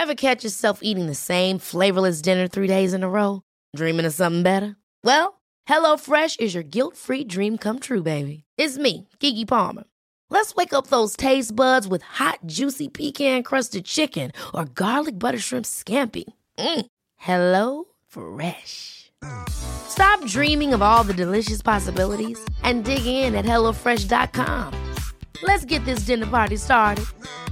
Ever catch yourself eating the same flavorless dinner 3 days in a row? Dreaming of something better? Well, HelloFresh is your guilt-free dream come true, baby. It's me, Keke Palmer. Let's wake up those taste buds with hot, juicy pecan-crusted chicken or garlic butter shrimp scampi. Hello Fresh. Stop dreaming of all the delicious possibilities and dig in at HelloFresh.com. Let's get this dinner party started.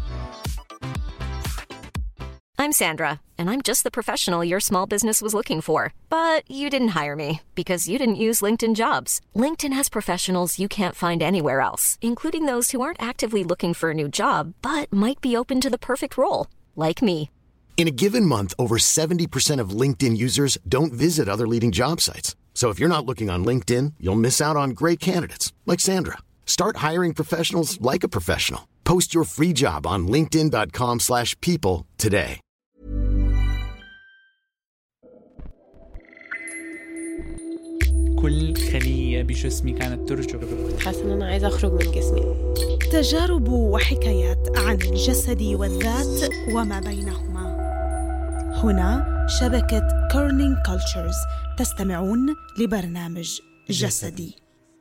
I'm Sandra, and I'm just the professional your small business was looking for. But you didn't hire me because you didn't use LinkedIn Jobs. LinkedIn has professionals you can't find anywhere else, including those who aren't actively looking for a new job, but might be open to the perfect role, like me. In a given month, over 70% of LinkedIn users don't visit other leading job sites. So if you're not looking on LinkedIn, you'll miss out on great candidates like Sandra. Start hiring professionals like a professional. Post your free job on linkedin.com/people today. كل خلية بجسمي كانت ترجف. حاسة إن أنا عايزة أخرج من جسمي. تجارب وحكايات عن الجسد والذات وما بينهما. هنا شبكة كورنينج كولتشرز. تستمعون لبرنامج جسدي.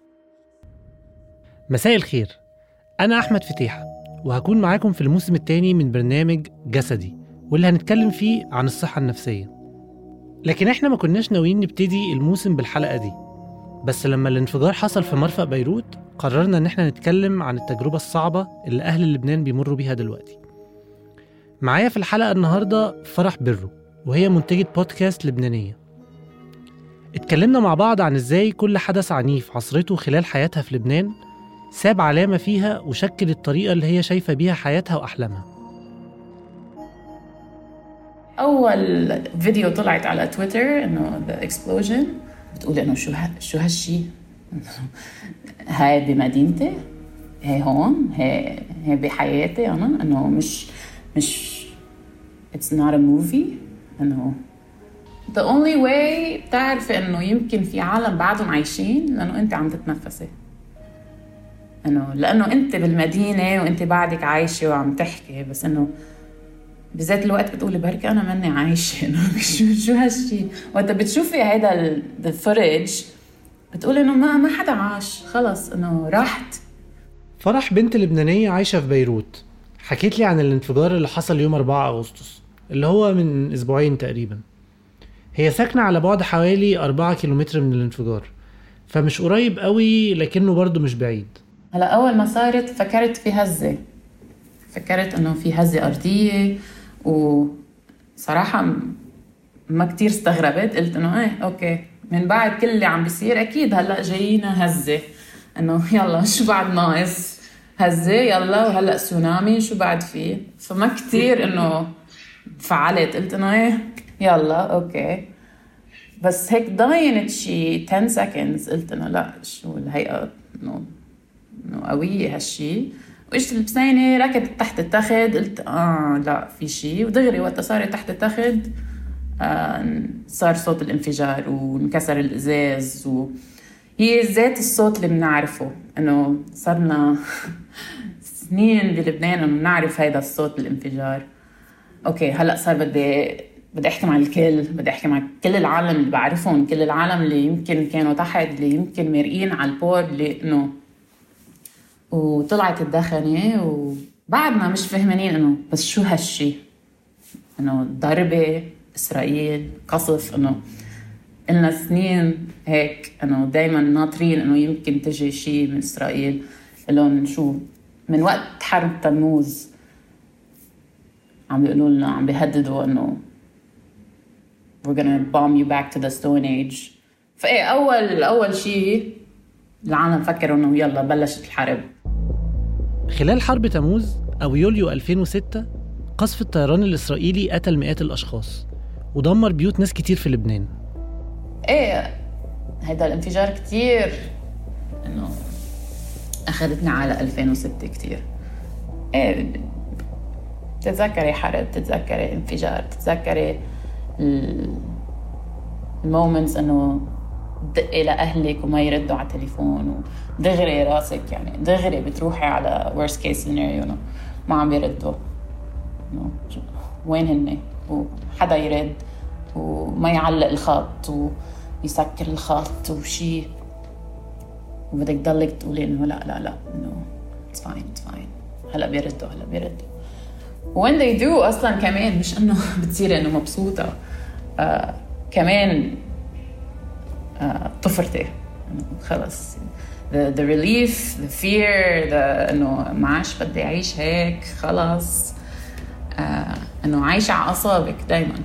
مساء الخير، أنا أحمد فتيحة وهكون معاكم في الموسم الثاني من برنامج جسدي، واللي هنتكلم فيه عن الصحة النفسية. لكن إحنا ما كناش ناويين نبتدي الموسم بالحلقة دي، بس لما الانفجار حصل في مرفأ بيروت قررنا إن إحنا نتكلم عن التجربة الصعبة اللي أهل لبنان بيمروا بيها دلوقتي. معايا في الحلقة النهاردة فرح برو، وهي منتجة بودكاست لبنانية. اتكلمنا مع بعض عن إزاي كل حدث عنيف عصرته خلال حياتها في لبنان ساب علامة فيها وشكل الطريقة اللي هي شايفة بيها حياتها وأحلامها. أول فيديو طلعت على تويتر إنه the explosion، بتقول إنه شو هالشي، هاي بمدينتي، هاي هون، هاي بحياتي أنا، إنه مش it's not a movie، إنه the only way بتعرف إنه يمكن في عالم بعدهم عايشين لأنه أنت عم تتنفسي، إنه لأنه أنت بالمدينة وأنت بعدك عايشة وعم تحكي، بس إنه بذات الوقت بتقولي بركي أنا مني عايشة، إنه شو هالشي. وقت بتشوفي هيدا الفرج بتقولي إنه ما حدا عاش، خلص إنه راحت. فرح بنت لبنانية عايشة في بيروت حكيت لي عن الانفجار اللي حصل يوم 4 أغسطس اللي هو من أسبوعين تقريبا. هي ساكنة على بعد حوالي 4 كيلومتر من الانفجار، فمش قريب قوي لكنه برضو مش بعيد. هلا أول ما صارت فكرت في هزة، فكرت إنه في هزة أرضية، وصراحة ما كتير استغربت، قلت إنه أوكي من بعد كل اللي عم بيصير أكيد هلأ جايينا هزة، إنه يلا شو بعد ناقص، هزة يلا، وهلأ سونامي شو بعد فيه. فما كتير إنه فعلت، قلت إنه يلا أوكي. بس هيك ضاينت شي 10 seconds، قلت إنه لا شو الهيئة، إنه قوية هالشي. وإجت البسينة ركضت تحت التخت، قلت لا في شي، ودغري وقت صارت تحت التخت صار صوت الانفجار وانكسر الإزاز، وهي ذات الصوت اللي بنعرفه، إنه صارنا سنين بلبنان إنه بنعرف هيدا الصوت الانفجار. أوكي هلأ صار بدي أحكي مع الكل، بدي أحكي مع كل العالم اللي بعرفهم، كل العالم اللي يمكن كانوا تحت، اللي يمكن مرقين على البورد، اللي إنه وطلعت الدخنة وبعدنا مش فهمانين إنه بس شو هالشي، إنه ضربة إسرائيل قصف، إنه إلنا سنين هيك إنه دايما ناطرين إنه يمكن تجي شي من إسرائيل. لون شو من وقت حرب تموز عم بيقولوا لنا، عم بيهددوا إنه we're gonna bomb you back to the stone age. فإيه أول شي العالم فكروا إنه يلا بلشت الحرب. خلال حرب تموز أو يوليو 2006 قصف الطيران الإسرائيلي قتل مئات الأشخاص ودمر بيوت ناس كتير في لبنان. هيدا الانفجار كتير إنه أخذتني على 2006 كتير. تتذكري حرب، تتذكري انفجار، تتذكري المومنتس إنه دقي لأهلك وما يردوا على التليفون، ودغري راسك يعني دغري بتروحي على worst case scenario ما عم يردوا. وين هن وحدا يرد وما يعلق الخط ويسكر الخط وشي وبدك تضلك تقولي إنه لا إنه it's fine هلأ بيردوا when they do أصلاً كمان مش إنه بتصير إنه مبسوطة كمان طفرتي خلص the relief the fear إنه معاش بدي أعيش هيك خلص إنه عايشة على أعصابك دايماً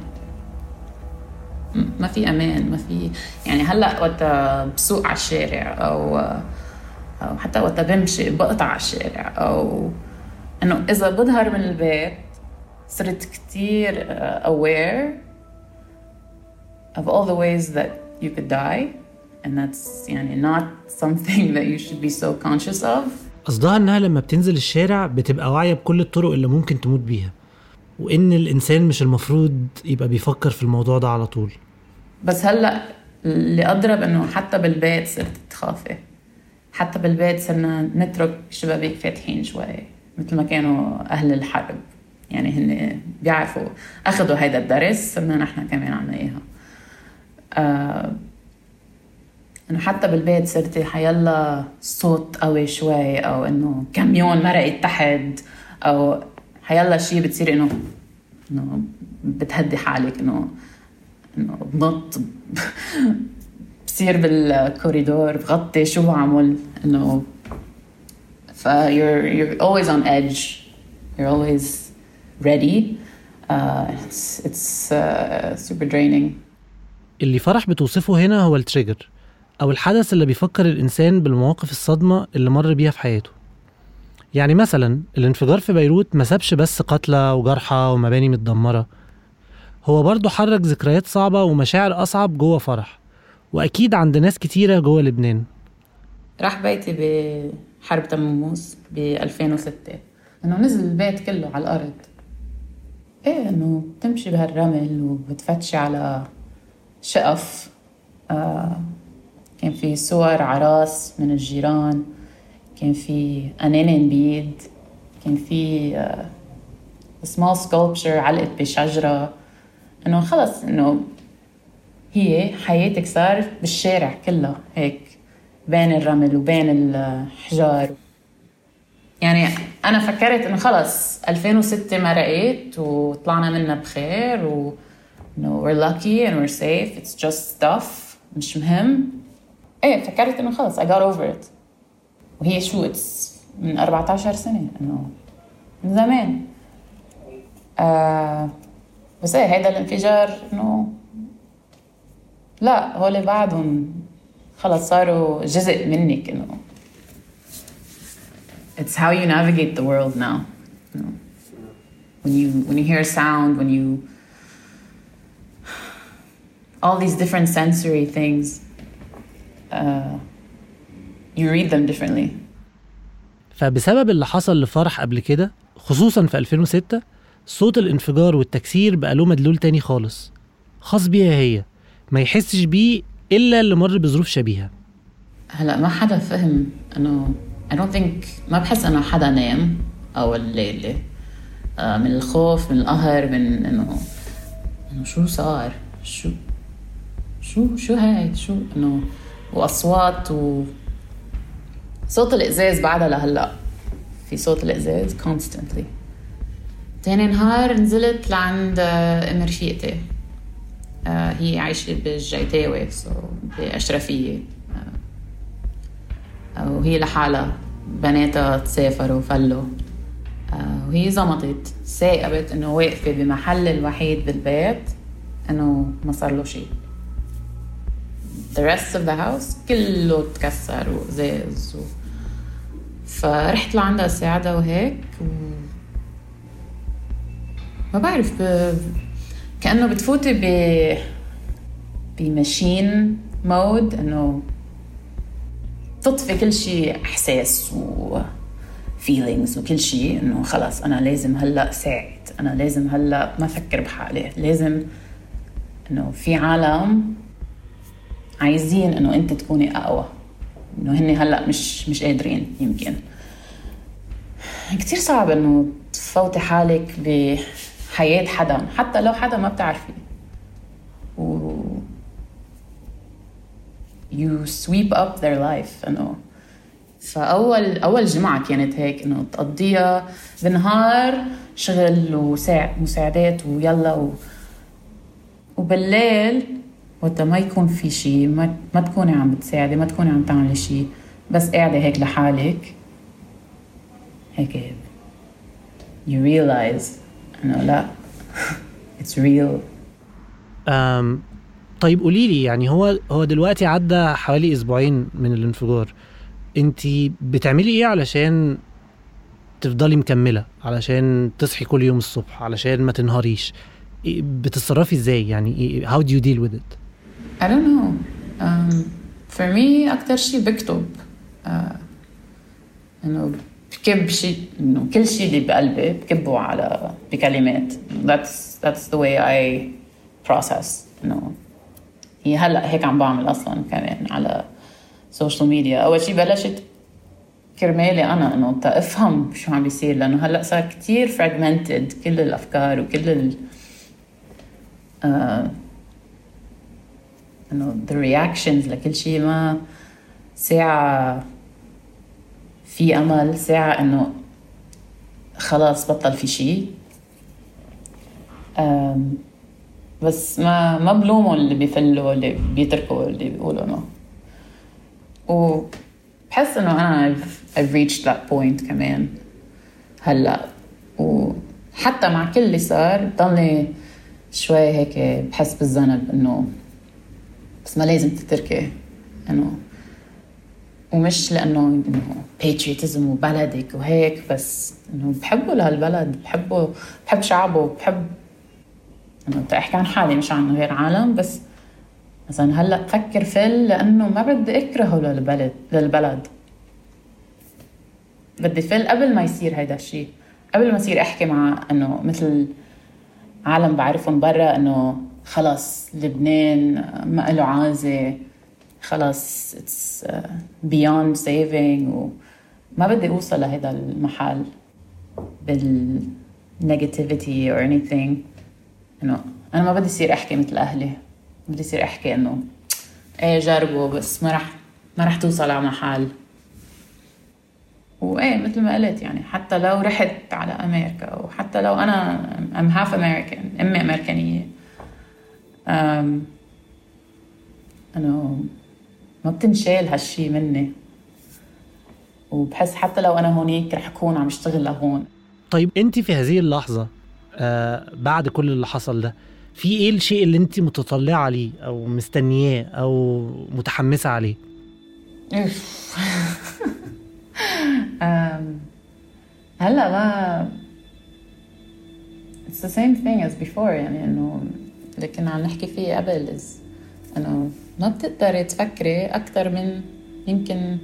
ما في أمان ما في يعني هلأ وقت بسوق على الشارع أو حتى وقت بمشي بقطع على الشارع أو إنه إذا بظهر من البيت صرت كتير aware of all the ways that you could die and that's يعني not something that you should be so conscious of. قصدها إنها لما بتنزل الشارع بتبقى واعية بكل الطرق اللي ممكن تموت بيها وإن الإنسان مش المفروض يبقى بيفكر في الموضوع ده على طول. بس هلأ اللي أضرب إنه حتى بالبيت صرت تخافي حتى بالبيت صرنا نترك شبابيك فاتحين شوي مثل ما كانوا أهل الحرب يعني هن بيعرفوا أخذوا هيدا الدرس صرنا نحن كمان عنا إياها إنه حتى بالبيت صرتي حيلا صوت قوي شوي أو إنه كاميون مرقت تحت أو حيلا شيء بتصير إنه بتهدي حالك إنه بنط بصير بالكوريدور بغطي شو بعمل إنه you're always on edge you're always ready it's super draining. اللي فرح بتوصفه هنا هو التريجر أو الحدث اللي بيفكر الإنسان بالمواقف الصدمة اللي مر بيها في حياته. يعني مثلا الانفجار في بيروت ما سابش بس قتلى وجرحى ومباني متدمرة هو برضو حرك ذكريات صعبة ومشاعر أصعب جوه فرح وأكيد عند ناس كتيرة جوه لبنان. راح بيتي بحرب تموز ب 2006 إنه نزل البيت كله على الأرض إيه إنه تمشي بهالرمل وبتفتشي على شقف كان في صور عراس من الجيران كان في أنانين بيد كان في small sculpture علقت بشجرة إنه خلص إنه هي حياتك صار بالشارع كله هيك بين الرمل وبين الحجار يعني أنا فكرت إنه خلص 2006 مرقت وطلعنا منها بخير و إنه we're lucky and we're safe it's just stuff مش مهم إيه فكرت إنه خلص I got over it وهي شو من 14 سنة إنه من زمان بس إيه هيدا الانفجار إنه لا هولي بعدهم خلص صاروا جزء منك إنه it's how you navigate the world now you know, when you hear sound when you all these different sensory things you read them differently. فبسبب اللي حصل لفرح قبل كده خصوصا في 2006 صوت الانفجار والتكسير بقى له مدلول تاني خالص خاص بيها هي ما يحسش بيه إلا اللي مر بظروف شبيهة. هلأ ما حدا فهم إنه I don't think ما بحس إنه حدا نام أو الليلة من الخوف من القهر من إنه شو صار شو هاي شو إنه وأصوات صوت الإزاز بعدها لهلأ في صوت الإزاز constantly. تاني نهار نزلت لعند أم رفيقتي هي عايشة بالجيتاوي بأشرفية وهي لحالها بناتها تسافروا وفلوا وهي زمطت ساقبت إنه واقفة بمحل الوحيد بالبيت إنه ما صار له شيء the rest of the house كله تكسر وزاز فرحت لعندها ساعدها وهيك ما بعرف كأنه بتفوتي بماشين مود إنه تطفي كل شيء إحساس و feelings وكل شيء إنه خلاص أنا لازم هلأ ساعد أنا لازم هلأ ما أفكر بحالي لازم إنه في عالم عايزين إنه أنت تكوني أقوى إنه هني هلأ مش قادرين يمكن كتير صعب إنه تفوتي حالك حياة حدا حتى لو حدا ما بتعرفيه و you sweep up their life إنه. فأول جمعة كانت هيك إنه تقضيها بالنهار شغل ومساعدات ويلا وبالليل وقت ما يكون في شي ما تكوني عم بتساعدي ما تكوني عم تعملي شي بس قاعدة هيك لحالك هيك you realize إنه لا it's real. طيب قوليلي يعني هو دلوقتي عدى حوالي أسبوعين من الانفجار، انتي بتعملي ايه علشان تفضلي مكملة، علشان تصحي كل يوم الصبح، علشان ما تنهاريش؟ بتتصرفي ازاي يعني؟ how do you deal with it؟ I don't know. For me أكتر شيء بكتب إنه بكب شيء إنه كل شيء اللي بقلبي بكبه بكلمات. That's the way I process. إنه هي هلأ هيك عم بعمل أصلاً كمان على سوشيال ميديا. أول شيء بلشت كرمالي أنا إنه أفهم شو عم بيصير، لأنه هلأ صار كتير fragmented كل الأفكار وكل إنه the reactions لكل شيء. ما ساعة في أمل، ساعة إنه خلاص بطل في شيء. بس ما بلوموا اللي بيفلوا اللي بيتركوا اللي بيقولوا إنه. وبحس إنه أنا I've reached that point كمان هلأ. وحتى مع كل اللي صار ضلني شوي هيك بحس بالذنب إنه بس ما لازم تتركي إنه. ومش لأنه إنه patriotism وبلدك وهيك، بس إنه بحبه لهالبلد، بحب شعبه، بحب إنه أحكي عن حالي مش عن غير عالم. بس مثلا هلأ بفكر لأنه ما بدي أكرهه للبلد. بدي قبل ما يصير هيدا الشيء، قبل ما يصير أحكي مع إنه مثل عالم بعرفهم برا إنه خلاص لبنان ما له عازة، خلاص it's beyond saving. وما بدي أوصل لهذا المحل بالnegativity or anything. إنه أنا ما بدي يصير أحكي مثل أهلي، بدي يصير أحكي إنه إيه جربوا بس ما رح توصل على محل. وإيه مثل ما قلت يعني حتى لو رحت على أمريكا، وحتى لو أنا I'm half American، أمي أمريكانية، إنه ما بتنشال هالشي مني. وبحس حتى لو أنا هونيك رح أكون عم اشتغل لهون. طيب أنت في هذه اللحظة بعد كل اللي حصل ده، في إيه الشيء اللي أنت متطلعة عليه أو مستنياه أو متحمسة عليه؟ هلا ما it's the same thing as before يعني إنه اللي كنا عم نحكي فيه قبل إنه ما بتقدري تفكري أكتر من يمكن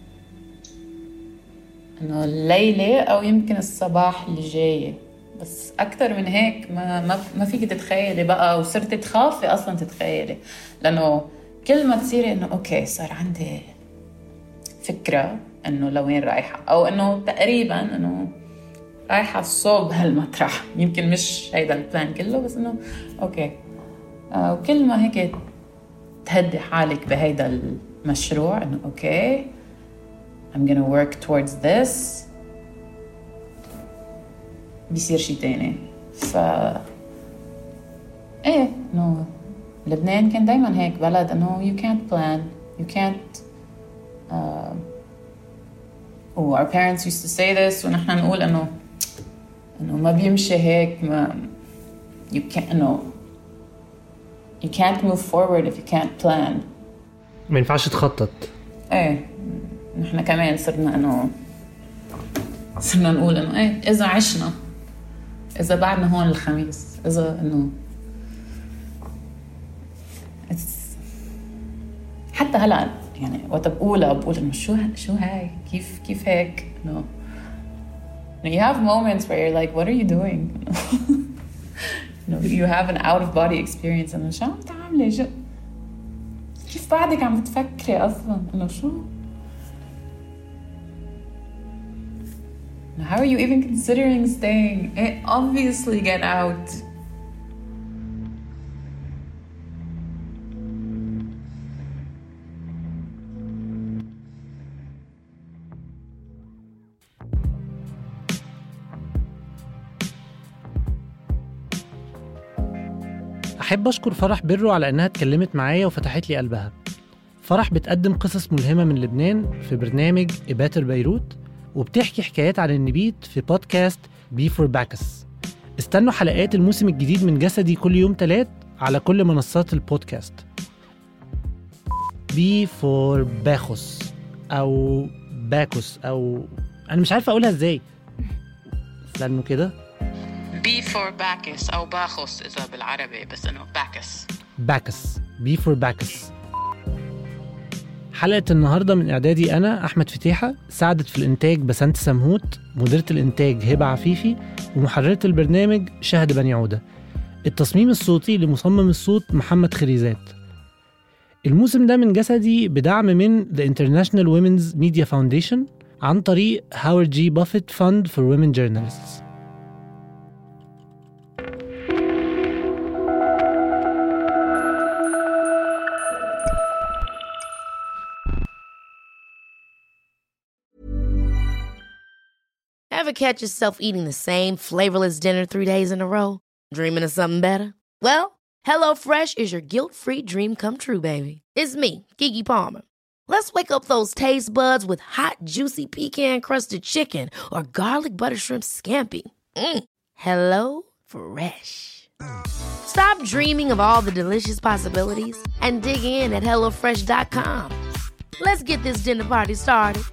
إنه الليلة أو يمكن الصباح اللي جاي. بس أكتر من هيك ما فيك تتخيلي بقى، وصرت تخافي أصلاً تتخيلي، لأنه كل ما تصيري إنه أوكي صار عندي فكرة إنه لوين رايحة، أو إنه تقريباً إنه رايحة صوب هالمطرح، يمكن مش هيدا البلان كله بس إنه أوكي. وكل ما هيك تهدي حالك بهيدا المشروع إنه أوكي I'm gonna work towards this، بيصير شي تاني. إيه إنه لبنان كان دايماً هيك بلد إنه you can't plan، you can't our parents used to say this ونحن نقول إنه ما بيمشي هيك، ما you can't move forward if you can't plan. ما ينفعش تخطط. إيه نحن كمان صرنا نقول إنه إيه إذا عشنا، إذا بعدنا هون الخميس، إذا إنه حتى هلا يعني وقت بقول إنه شو هاي كيف هيك إنه you have moments where you're like what are you doing you have an out of body experience إنه شو عم تعملي، كيف بعدك عم بتفكري أصلا إنه شو. How are you even considering staying? Obviously get out. أحب أشكر فرح برو على إنها اتكلمت معايا وفتحت لي قلبها. فرح بتقدم قصص ملهمة من لبنان في برنامج إباتر بيروت، وبتحكي حكايات عن النبيت في بودكاست بي فور باكس. استنوا حلقات الموسم الجديد من جسدي كل يوم 3 على كل منصات البودكاست. بي فور باخوس أو باكوس أو أنا مش عارفة أقولها إزاي. استنوا كده. بي فور باكس أو باخوس إذا بالعربي، بس إنه باكس بي فور باكس. حلقة النهاردة من إعدادي أنا أحمد فتيحة، ساعدت في الإنتاج بسنت سمهوت، مديرة الإنتاج هبة عفيفي، ومحررة البرنامج شهد بني عودة. التصميم الصوتي لمصمم الصوت محمد خريزات. الموسم ده من جسدي بدعم من The International Women's Media Foundation عن طريق هاورد جي بافيت Fund for Women Journalists. Ever catch yourself eating the same flavorless dinner 3 days in a row? Dreaming of something better? Well, HelloFresh is your guilt-free dream come true, baby. It's me, Keke Palmer. Let's wake up those taste buds with hot, juicy pecan-crusted chicken or garlic butter shrimp scampi. Hello Fresh. Stop dreaming of all the delicious possibilities and dig in at HelloFresh.com. Let's get this dinner party started.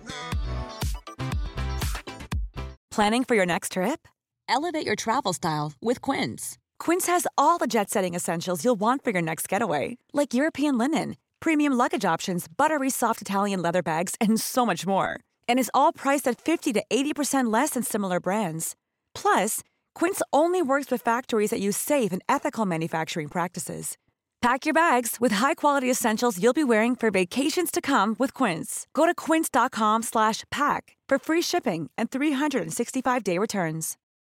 Planning for your next trip? Elevate your travel style with Quince. Quince has all the jet-setting essentials you'll want for your next getaway, like European linen, premium luggage options, buttery soft Italian leather bags, and so much more. And is all priced at 50 to 80% less than similar brands. Plus, Quince only works with factories that use safe and ethical manufacturing practices. Pack your bags with high-quality essentials you'll be wearing for vacations to come with Quince. Go to quince.com/pack for free shipping and 365-day returns.